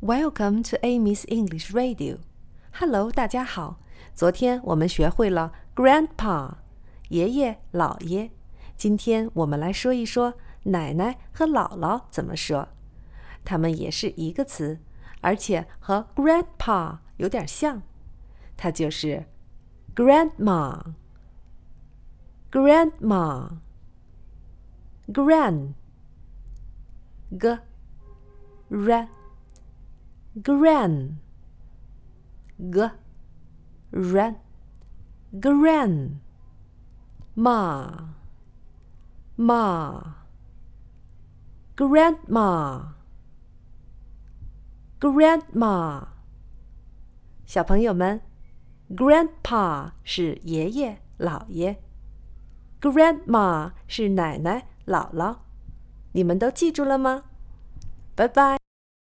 Welcome to Amy's English Radio. Hello, 大家好。昨天我们学会了 Grandpa, 爷爷、姥爷。今天我们来说一说奶奶和姥姥怎么说。它们也是一个词，而且和 Grandpa 有点像。它就是 Grandma, Grandma, Gran, G, R, Gran, G, R, Gran, Ma, Ma, Grandma, Grandma。小朋友们 Grandpa 是爷爷、姥爷， Grandma 是奶奶、姥姥，你们都记住了吗？拜拜。